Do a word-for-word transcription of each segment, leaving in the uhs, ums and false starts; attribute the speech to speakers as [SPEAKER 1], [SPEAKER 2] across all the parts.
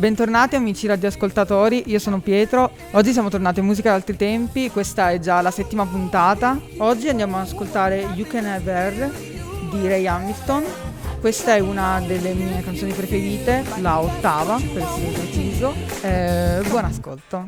[SPEAKER 1] Bentornati amici radioascoltatori, io sono Pietro. Oggi siamo tornati in Musica d'altri tempi, questa è già la settima puntata. Oggi andiamo ad ascoltare You Can Have Her di Ray Hamilton. Questa è una delle mie canzoni preferite, la ottava per essere preciso. Eh, buon ascolto.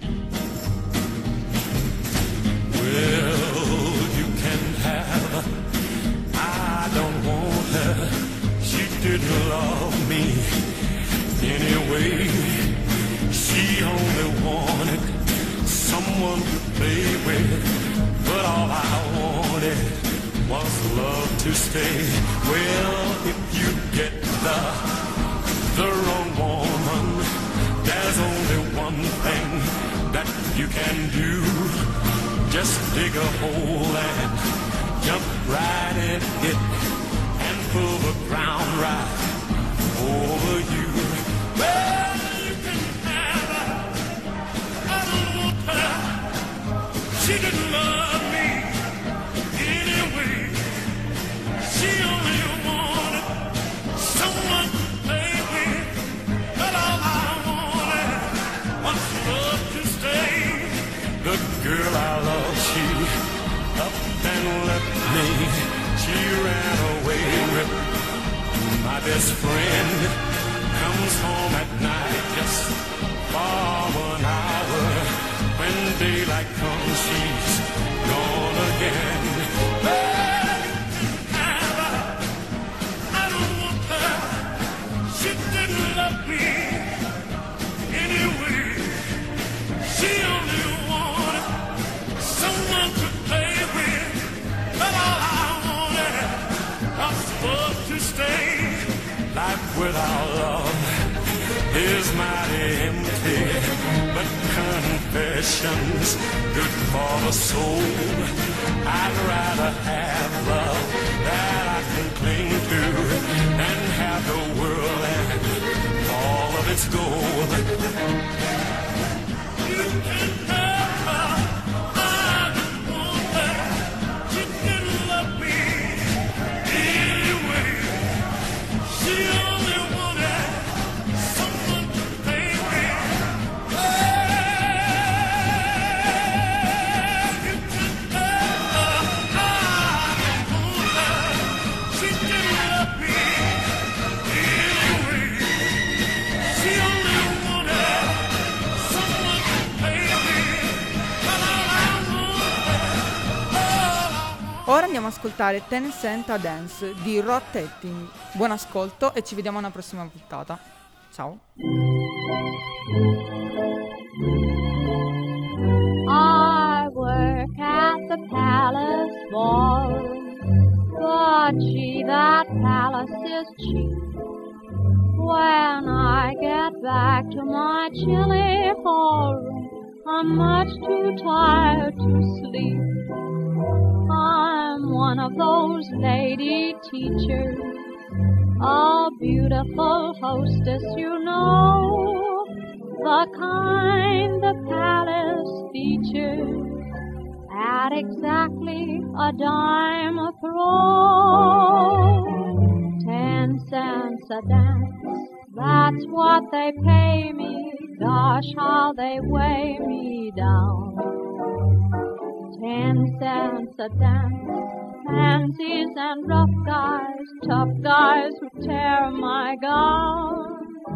[SPEAKER 2] Well, you can have, I don't want her, she didn't love me. Anyway, she only wanted someone to play with, but all I wanted was love to stay. Well, if you get the, the wrong woman, there's only one thing that you can do. Just dig a hole and jump right in it and pull the ground right over you. Well, you can have her, I don't want her, she didn't love me anyway. She only wanted someone to play with, but all I wanted was love to stay. The girl I love, she up and left me, she ran away with my best friend. Comes home at night just for one hour. When daylight comes, she's gone again. Well, have her, I don't want her, she didn't love me anyway. She only wanted someone to play with, but all I wanted was love to stay. Life without love is mighty empty, but confession's good for the soul. I'd rather have love that I can cling to than have the world and all of its gold. You can have her, I don't want her, she didn't love me anyway. She only wanted someone to play with. Well, you can have her, I don't want her, she didn't love me anyway. She only wanted someone to play with, but all I wanted, all I
[SPEAKER 1] Ora andiamo ad ascoltare Ten Cent a Dance di Rod Tetting. Buon ascolto e ci vediamo alla prossima puntata. Ciao.
[SPEAKER 3] I work at the Palace Ballroom, but gee, that palace is cheap. When I get back to my chilly hallroom, I'm much too tired to sleep. I'm one of those lady teachers, a beautiful hostess, you know, the kind the palace features at exactly a dime a throw. Ten cents a dance, that's what they pay me. Gosh, how they weigh me down. Ten cents a dance, pansies and rough guys, tough guys who tear my gown.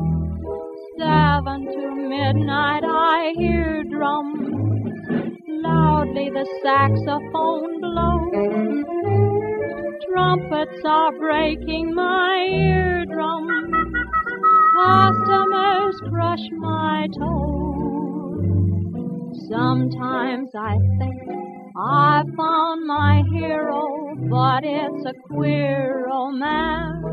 [SPEAKER 3] Seven to midnight I hear drums, loudly the saxophone blows. Trumpets are breaking my eardrums, customers crush my toes. Sometimes I think I found my hero, but it's a queer romance.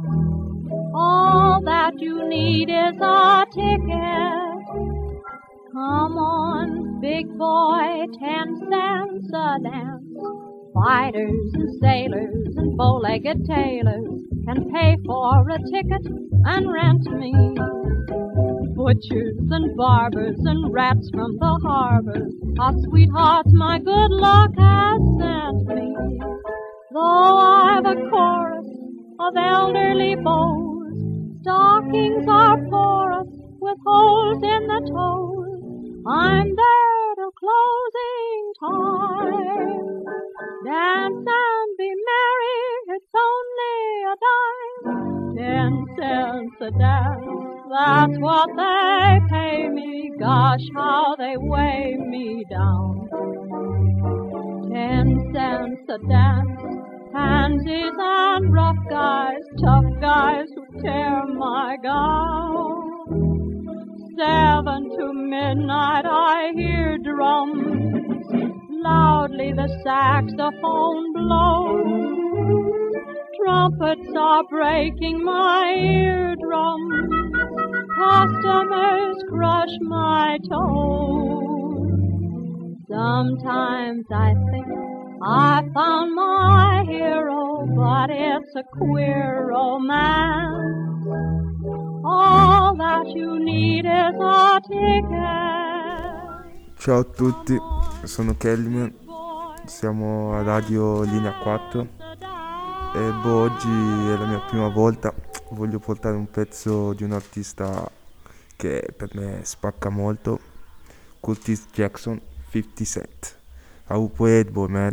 [SPEAKER 3] All that you need is a ticket. Come on, big boy, ten cents a dance. Fighters and sailors and bow-legged tailors can pay for a ticket and rent me. Butchers and barbers and rats from the harbor are sweethearts my good luck has sent me. Though I've a chorus of elderly beaux, stockings are porous toes in the toes. I'm there till closing time. Dance and be merry, it's only a dime. Ten cents a dance, that's what they pay me. Gosh, how they weigh me down. Ten cents a dance, pansies and rough guys, tough guys who tear my gown. Seven to midnight I hear drums, loudly the saxophone blows. Trumpets are breaking my eardrums, customers crush my toes. Sometimes I think I found my hero, but it's a queer romance. All that you need is a ticket.
[SPEAKER 4] Ciao a tutti, sono Kellyman, siamo a Radio Linea quattro e boh, oggi è la mia prima volta, voglio portare un pezzo di un artista che per me spacca molto, Curtis Jackson, fifty cent. I will play it, boy, man.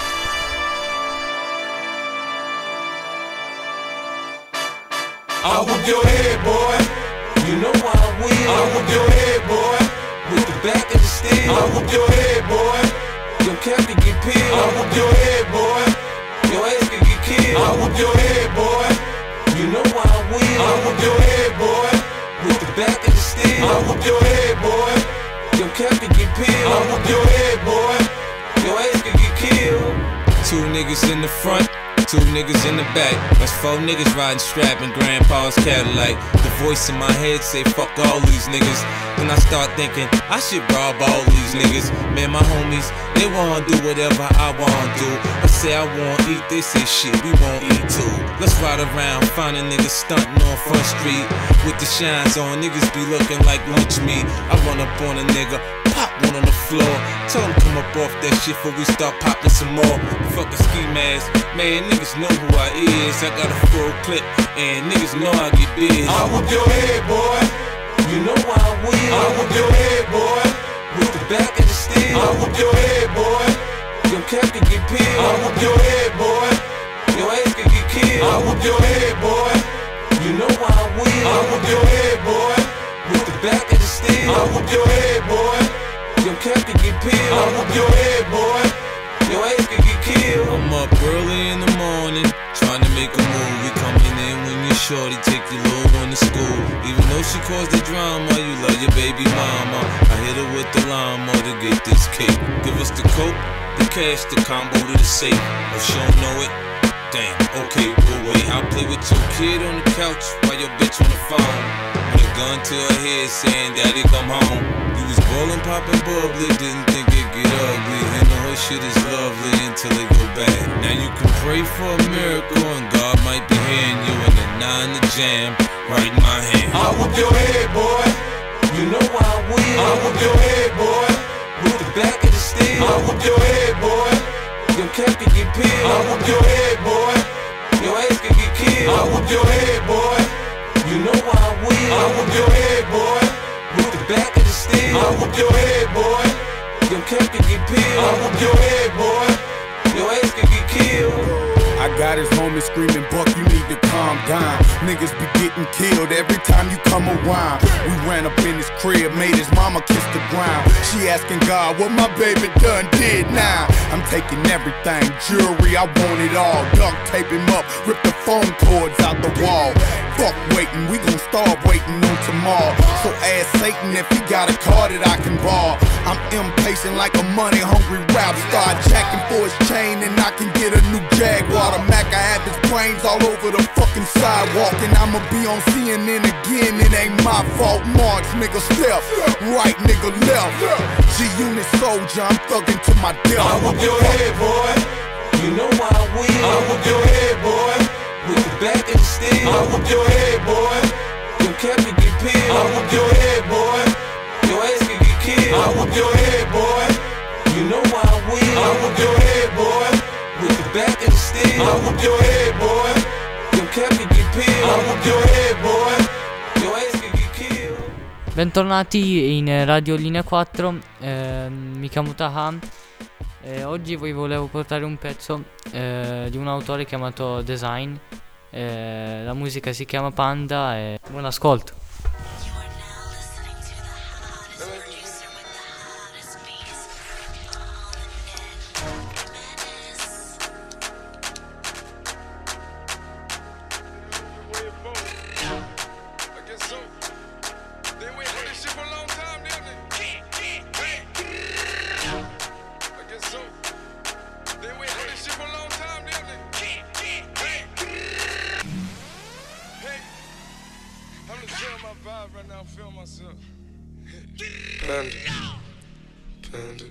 [SPEAKER 2] I whoop your head, boy. You know I win. I whoop your head, boy. With the back of the steel. I whoop your head, boy. Your cap can get peeled. I whoop your head, boy. Your ass can get killed. I whoop your head, boy. You know I win. I whoop your head, boy. With the back of the steel. I whoop your head, boy. Your cap can get peeled. I whoop your head, boy. Your ass can get killed. Two niggas in the front, two niggas in the back. That's four niggas riding strap in grandpa's Cadillac. The voice in my head say fuck all these niggas. Then I start thinking I should rob all these niggas. Man, my homies, they wanna do whatever I wanna do. I say I wanna eat, they say shit, we won't eat too. Let's ride around, finding niggas stunting on Front Street with the shines on, niggas be looking like lunch meat. I run up on a nigga, pop one on the floor, tell him come up off that shit before we start popping some more. Fuck a ski mask, man, niggas know who I is. I got a full clip, and niggas know I get big. I whoop your head, boy. You know I win. I whoop your head, boy. With the back of the steel. I whoop your head, boy. Your cap can get peeled. I whoop your head, boy. Your ass can get killed. I whoop your head, boy. You know I win. I whoop your head, boy. With the back of the steel. I whoop your head, boy. Your cap can get peeled. I whoop your head, boy. Your ass can get killed. I'm up early in the morning, trying to make a move. We coming in when you're shorty, take your little one to school. Even though she caused the drama, you love your baby mama. I hit her with the llama to get this cake. Give us the coke, the cash, the combo to the safe. Oh, she don't know it? Damn, okay, we'll wait. I'll play with your kid on the couch while your bitch on the phone. With a gun to her head saying, Daddy, come home. You was ballin', poppin' bubbly, didn't think it'd get ugly. And the whole shit is lovely until it go bad. Now you can pray for a miracle and God might be hearing you in the nine to jam right in my hand. I whoop your head, boy. You know I win. I whoop your head, boy. With the back of the steel. I whoop your head, boy. Your cap can get peeled. I whoop your head, boy. Your ass can get killed. I whoop your head, boy. You know I win. I whoop your head, boy. With the back of the steel. I whoop your head, boy. Your cap can get peeled. I whoop your head, boy. Your ass can get killed.
[SPEAKER 5] I got his homie screaming, Buck, you need to calm down. Niggas be getting killed every time you come around. We ran up in his crib, made his mama kiss the ground. She asking God what my baby done did now. I'm taking everything, jewelry, I want it all. Duct tape him up, rip the phone cords out the wall. Fuck waiting, we gon' start waiting on tomorrow. So ask Satan if he got a car that I can borrow. I'm impatient like a money-hungry rap star, jacking for his chain and I can get a new Jaguar. The Mac, I have his brains all over the fucking sidewalk, and I'ma be on C N N again, it ain't my fault. March, nigga, step, right, nigga, left. G-Unit soldier, I'm thugging to my death.
[SPEAKER 2] I whoop your head, boy. You know I win. I whoop your head, boy. With the back of the steel. I whoop your head, boy. Your cap can get peeled. I whoop your head, boy. Your ass can get killed. I whoop your head, boy. You know I win. I whoop your head, boy. With the back of the steel. I whoop your head, boy. Your cap can get peeled. I whoop your head, boy. Your ass can get killed.
[SPEAKER 6] Bentornati in Radio Linea quattro, eh, mi chiamo Taha e oggi vi volevo portare un pezzo eh, di un autore chiamato Design. Eh, la musica si chiama Panda e buon ascolto.
[SPEAKER 7] Panda,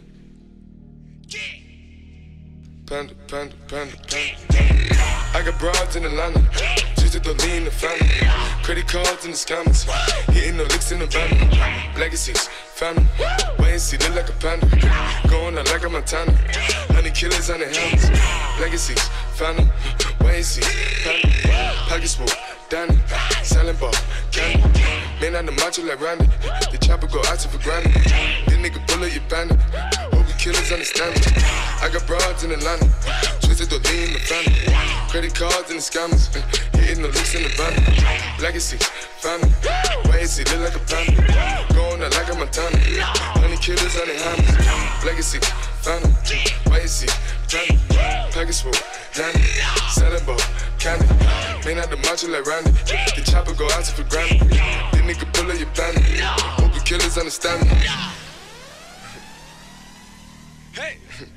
[SPEAKER 7] panda, panda, panda, panda. I got broads in Atlanta, just to lean the family. Credit cards in the scammers, hitting the licks in the van. Legacies, family, wait and see, look like a panda. Going out like a Montana, honey killers on the helmets. Legacies, family, wait and see, panda. Pockets full, Danny, selling ball, candy. Man on the macho like Randy, the chopper go out to for granted. This nigga bullet, you bandit. Hope you killers understand me. I got broads in Atlanta, twisted to lean the family. Credit cards and the scammers, hitting the licks in the van. Legacy, family, wait and see, look like a panda. Going out like a Montana, honey killers on the hands. Legacy, family, wait and see, family. Package full, Danny, selling ball, candy. Man out the macho like Randy, the chopper go out to for granted. This nigga bullet, you bandit. Hope you killers understand me. Hey!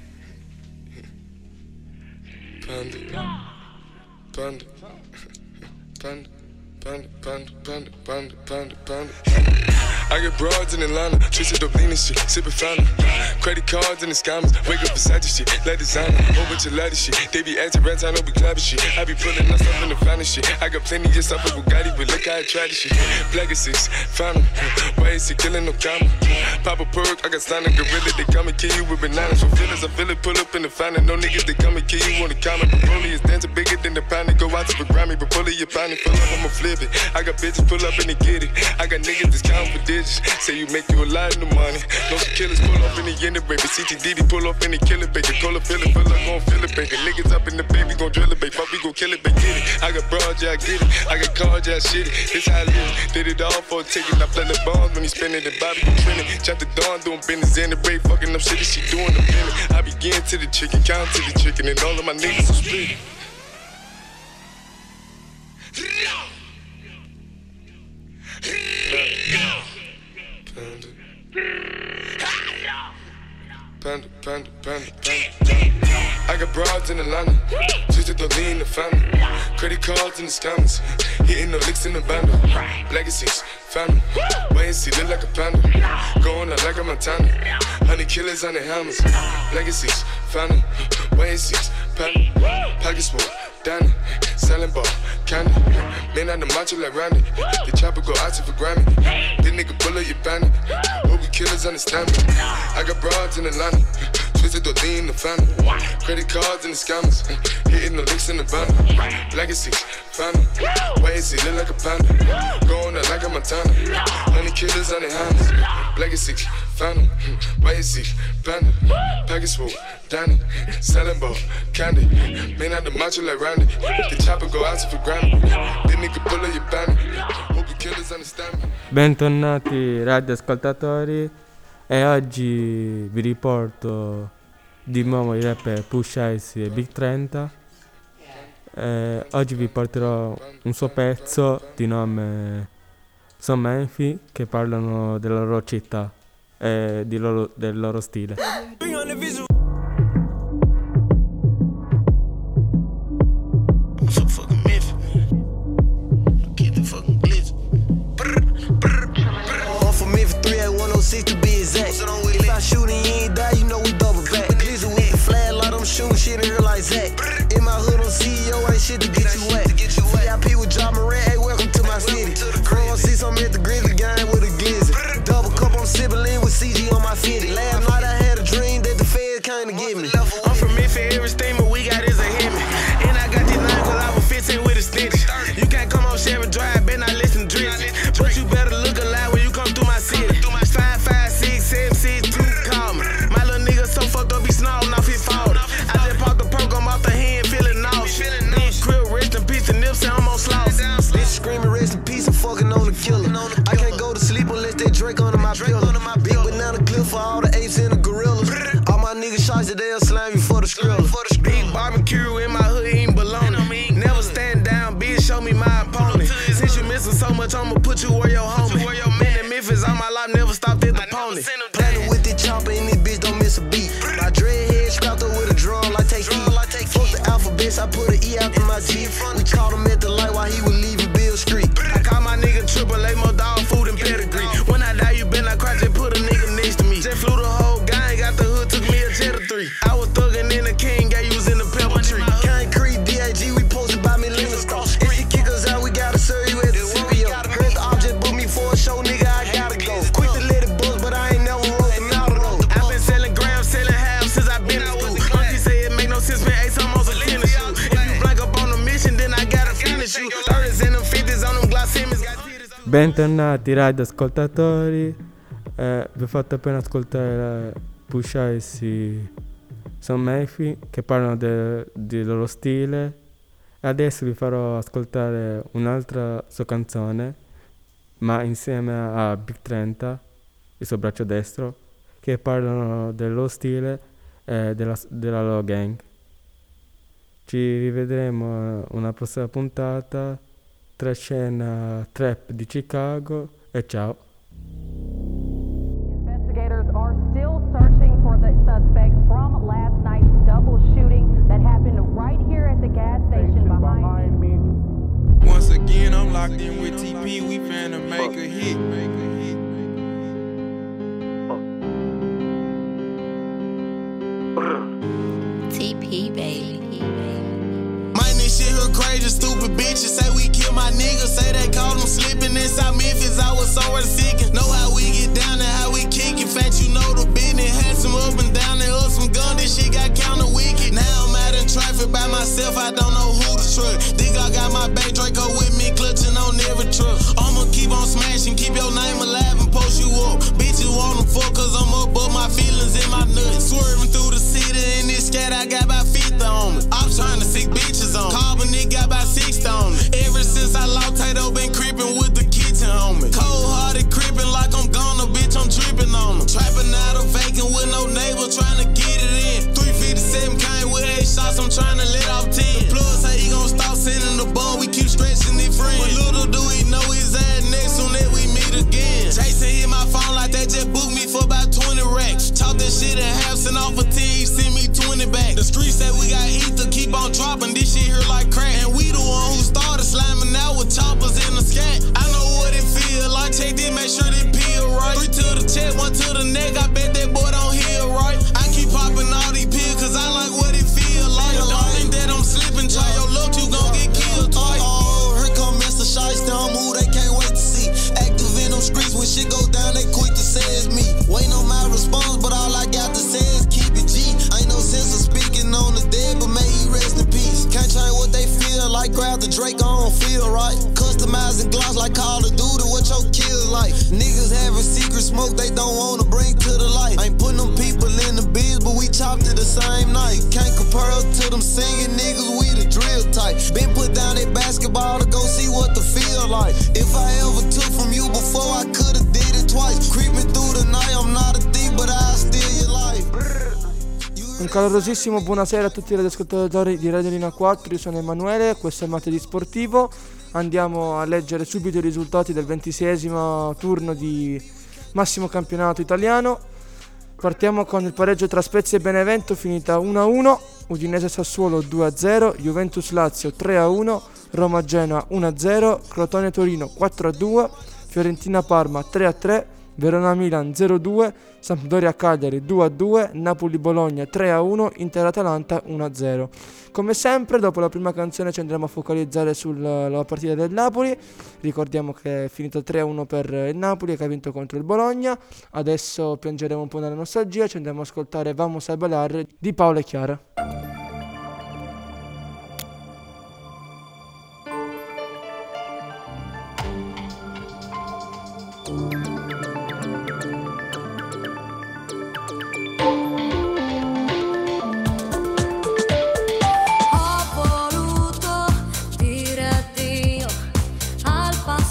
[SPEAKER 7] Panda, panda, panda, panda, panda, panda, panda, panda, panda. I get broads in Atlanta, twisted up lean and shit, sippin' fountain. Credit cards and the scammers, wake up beside shit, like designer, whole bunch of lattice shit. They be acting rats, I know we clapping shit. I be pulling up stuff in the finest shit. I got plenty of stuff with Bugatti, but look how I try this shit. Black is six, fountain, why is he killing no comma? Pop a perk, I got signed a gorilla, they come and kill you with bananas. For feelings, I feel it, pull up in the fountain. No niggas, they come and kill you on the comment. Broly is dancing bigger than the pound, they go out to the Grammy. But pull it, you pound it, pull up, I'ma flip it. I got bitches, pull up and they get it. I got niggas that's counting for digits. Say you make you a lot of the money. No some killers pull up in the end of baby. C T D D pull up in the killer baby. Call up, fill it, fill up, gon' fill it, baby. Niggas up in the baby, gon' drill it, baby. Fuck, we gon' kill it, baby. Get it. I got broad, yeah, I get it. I got cards, yeah, I shit it. This how I live. Did it all for a ticket. I play the bombs when he spinning the Bobby, you trending. Chop the dawn, doing business in the break. Fucking up shit that she doing the minute. I begin to the chicken, count to the chicken, and all of my niggas are split. Panda, panda, panda, panda. I got broads in Atlanta, twisted to lean the family. Credit cards and the scammers, hitting the licks in the bundle. Legacies, family, wait and see, look like a panda. Going out like a Montana, honey killers on the helmets. Legacies, family, wait and see, panda. Pockets full, Danny, selling ball, candy. Man on the macho like Randy, the chopper go out to for Grammy. This nigga bullet, you bandit. Hope you killers understand me. I got broads in Atlanta, twisted to lean the family. Credit cards and the scammers, hitting the licks in the bundle. Legacy, family, wait and see, look like a panda. Going out like a Montana, honey killers on the hands. Legacy, family, wait and see, panda. Package full, Danny, selling ball, candy. Man out the macho like Randy, the chopper go out to for Grammy. This nigga bullet, you bandit. Hope you killers understand me.
[SPEAKER 4] Bentornati radioascoltatori e oggi vi riporto di nuovo i rapper Push Ice e Big trenta. Eh, oggi vi porterò un suo pezzo di nome Son Menfi che parlano della loro città e di loro, del loro stile.
[SPEAKER 8] To be exact. If I shoot and you ain't die, you know we double back. Glizzy with the flag, like I'm shooting shit in here like Zach. In my hood, I'm C E O, ain't shit to get you wet. V I P with John Moran, hey, welcome to my city. Crow see something at the Grizzly game with a Gizzy. Double cup, I'm sipping lean with C G on my fitty. Last night I had a dream rest in peace, I'm fucking on the killer. I can't go to sleep unless they drink under my pillow. Big banana clip for all the apes and the gorillas. All my niggas shots that they'll slam you for the skrilla. Big barbecue in my hood, eating bologna. Never stand down, bitch, show me my opponent. Since you missing so much, I'ma put you where your homie. Been in Memphis all my life, never stopped at the pony. Planning with the chopper and this bitch don't miss a beat. My dreadhead strapped up with a drum like take E. Fuck the alphabets, I put an E after my G. We caught him at the light while he was leaving Bill Street. I call my nigga Triple A, more dog food and pedigree. When I die, you been like cry, just put a nigga next to me. Just flew the whole gang, got the hood, took me a jet or three. I was thuggin' in the king, got you was in the pepper tree. Concrete, D A G, we posted by me living star. If you kick us out, we gotta serve you at the C B O. Heard the object book me for a show, nigga, I gotta go. Quick to let it buzz, but I ain't never wrote them out of those. I been selling grams, selling half since I been out. Auntie say it make no sense, man, Ace almost a tennis shoe. If you blank up on the mission, then I gotta finish you. thirties and them fifties on them Glock Simmons.
[SPEAKER 9] Bentornati radio ascoltatori, eh, vi ho fatto appena ascoltare Push Ice e Son Mayfi che parlano del de loro stile e adesso vi farò ascoltare un'altra sua canzone ma insieme a Big trenta, il suo braccio destro, che parlano del loro stile e della, della loro gang. Ci rivedremo una prossima puntata tra scena trap di Chicago e ciao.
[SPEAKER 10] Investigators are still searching for the suspects from last night's double shooting that happened right here at the gas station behind me.
[SPEAKER 11] Once again, I'm locked in with T P. We finna make a hit. Make a hit.
[SPEAKER 12] T P, baby.
[SPEAKER 8] Shit her crazy, stupid bitches say we kill my niggas. Say they called them slipping inside Memphis. I was somewhere seeking. Know how we get down and how we kick it. Fact, you know the business. Had some up and down and up some gun. This shit got counter wicked. Now I'm out in traffic by myself. I don't know who to trust. Think I got my back Draco with me, clutching on every truck. I'ma keep on smashing, keep your name alive and post you up. Bitches wanna fuck cause I'm up, but my feelings in my nuts. Swerving through the city in this scat, I got about fifty on me. I'm trying to sick bitches on me. Carbon nigga got about sixty on me. Ever since I lost Tato, been creeping with the kitchen on me. Cold hearted creeping like I'm gonna, bitch, I'm tripping on them. Trapping out of vacant with no neighbor, trying to get it in. three fifty-seven came with eight shots, I'm trying to let off ten. The plug say he gon' stop sending the ball, we keep stretching it free. But little do he know his ass next soon that we meet again. Jason hit my phone like that, just booked me for about twenty racks. Talk that shit in half, send off a ten, he send me twenty back. The streets say we got ether, keep on dropping, this shit here like crack. And we the one who started slamming out with choppers in the scat. I know what it feel like, check this, make sure they peel right. Three to the chest, one to the neck, I bet that boy don't heal right. I keep popping all these pills, cause I like what it feel like. Don't think that I'm slipping, try your luck, you gon' get killed twice. Oh, here come Mister Shiesty, I'm who they can't wait to see. Active in them streets, when shit go down, they quick to say it's me. Waiting on my response, but all I got to say is keep it G. Ain't no sense of speaking on the dead, but may he rest in peace. Can't change what they feel like, grab the Drake, I don't feel right. Customizing gloss like Call of Duty, what your kill like. Niggas having secret smoke they don't wanna bring to the light. Ain't putting them people in the biz, but we chopped it the same night. Can't compare us to them singing niggas, we the drill type. Been put down at basketball to go see what the feel like. If I ever took from you before, I could've did it twice. Creeping through the night, I'm not a thief, but I steal your life.
[SPEAKER 4] Un calorosissimo buonasera a tutti i radioascoltatori di Radio Linea quattro, io sono Emanuele, questo è Martedì Sportivo. Andiamo a leggere subito i risultati del ventiseiesimo turno di massimo campionato italiano. Partiamo con il pareggio tra Spezia e Benevento, finita uno a uno, Udinese Sassuolo due a zero, Juventus Lazio tre a uno, Roma Genoa uno a zero, Crotone Torino quattro a due, Fiorentina Parma tre a tre, Verona Milan zero a due, Sampdoria Cagliari due a due, Napoli Bologna tre a uno, Inter Atalanta uno a zero. Come sempre, dopo la prima canzone ci andremo a focalizzare sulla partita del Napoli. Ricordiamo che è finito tre a uno per il Napoli, che ha vinto contro il Bologna. Adesso piangeremo un po' nella nostalgia, ci andremo a ascoltare Vamos a Bailar di Paola e Chiara.
[SPEAKER 13] Ho voluto dire addio al passato.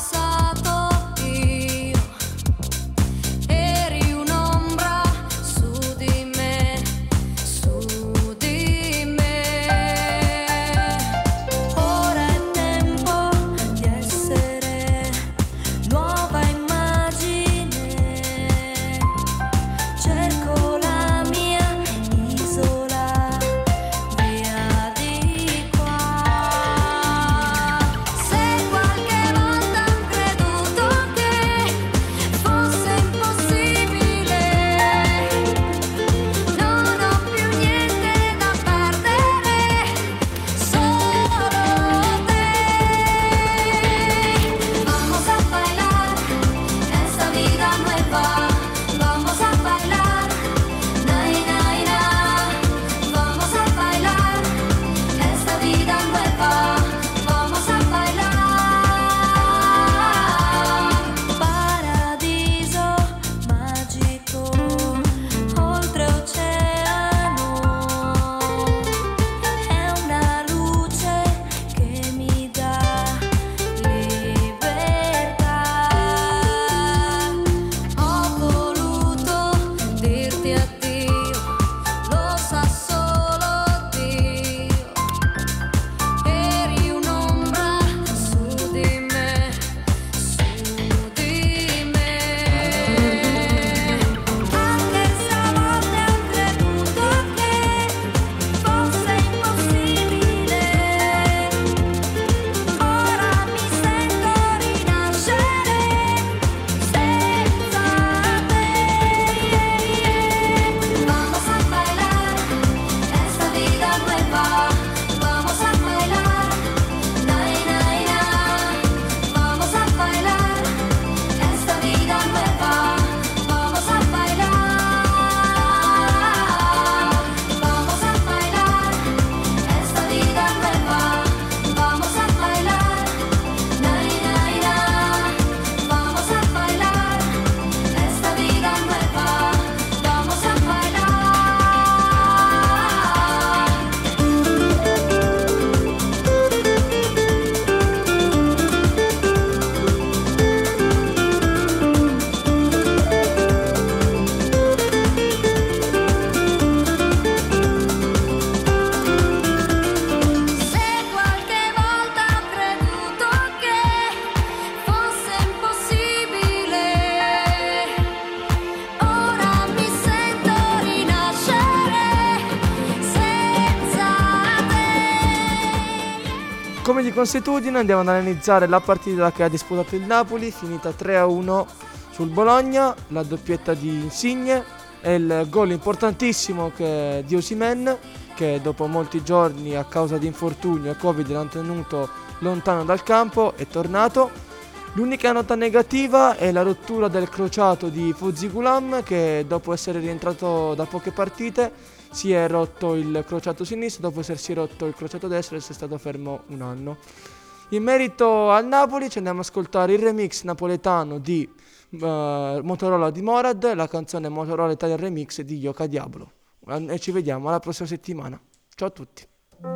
[SPEAKER 12] consuetudine andiamo ad analizzare la partita che ha disputato il Napoli, finita tre a uno sul Bologna, la doppietta di Insigne e il gol importantissimo che di Osimhen, che dopo molti giorni a causa di infortunio e Covid l'hanno tenuto lontano dal campo, è tornato. L'unica nota negativa è la rottura del crociato di Fuzzi Gulam, che dopo essere rientrato da poche partite si è rotto il crociato sinistro, dopo essersi rotto il crociato destro e essere stato fermo un anno. In merito al Napoli ci andiamo ad ascoltare il remix napoletano di uh, Motorola di Morad, la canzone Motorola Italian Remix di Yoka Diablo. E ci vediamo alla prossima settimana. Ciao a tutti.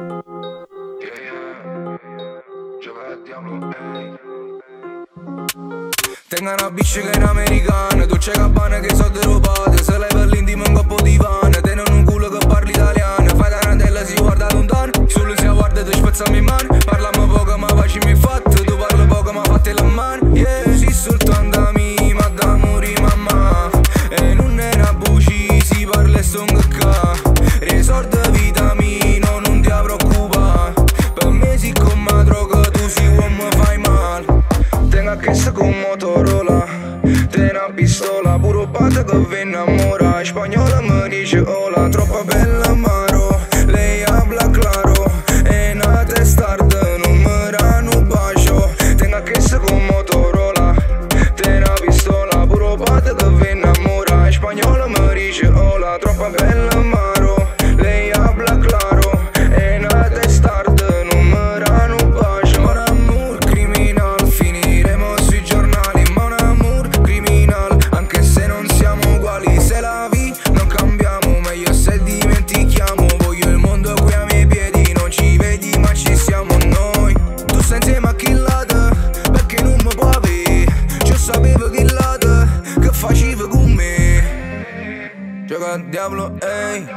[SPEAKER 13] Tengo una bisce che è americana, Dolce Gabbana che so derubate, se lei per l'intimo un coppo di pane, te non un culo che parli italiano, fai da randella si guarda lontano, solo si guarda e ti spezzami in mano, parliamo poco ma facciamo il fatto, tu parli poco ma fatti la mano, yeah, si soltanto a me, ma da morire mamma, e non è una buci, si parla e son che ca, risorda vita mia, non ti preoccupa, per me si come droga, tu si uomo fai male. Tengo a chessa con Motorola, te una pistola, puro pata che vi innamora, spagnola mi dice hola, troppo bella maro, lei habla claro, e una testarda, non mi danno un bacio. Tengo a chessa con Motorola, te una pistola, puro pata che vi innamora, spagnola mi dice hola, troppo bella maro, lei habla claro, e una testarda, non mi danno un bacio. Mon amour criminal, finiremo sui giornali, mon amour criminal, anche se non siamo uguali, se la vi non cambiamo, meglio se dimentichiamo, voglio il mondo qui ai miei piedi, non ci vedi ma ci siamo noi, tu sei insieme a Killata, perché non mi può avere, io sapevo Killata, che faceva con me, gioca al diavolo, ehi.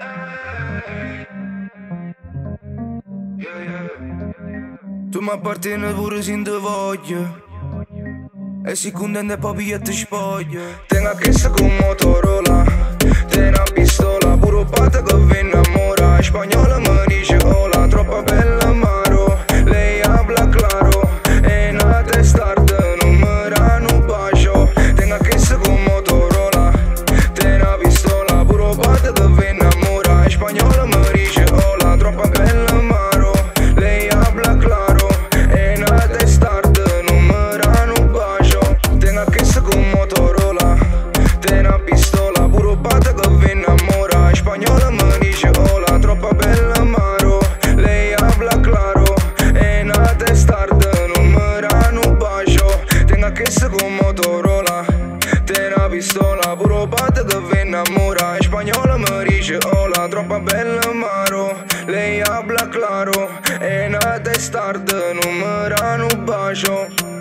[SPEAKER 13] Tu mi appartieni pure se non ti voglio, e si contenta poi e ti spoglio. Tengo a chessa con Motorola, te una pistola, puro pata che vi innamora, spagnola mi dice hola, troppo bella maro, lei habla claro, e una testarda, non mi danno un bacio. Tengo a chessa con Motorola, te una pistola, puro pata che vi innamora, spagnola mi dice hola, troppo bella maro, lei habla claro, e una testarda, non mi danno un bacio. Tengo a chessa con Motorola, te una pistola, puro pata che vi innamora, spagnola mi dice hola, troppo bella maro, lei habla claro, e una testarda, non mi danno un bacio. Tengo a chessa con Motorola, te una pistola, puro pata che vi innamora, spagnola mi dice hola, troppo bella maro, lei habla claro, e una testarda, non mi danno un bacio.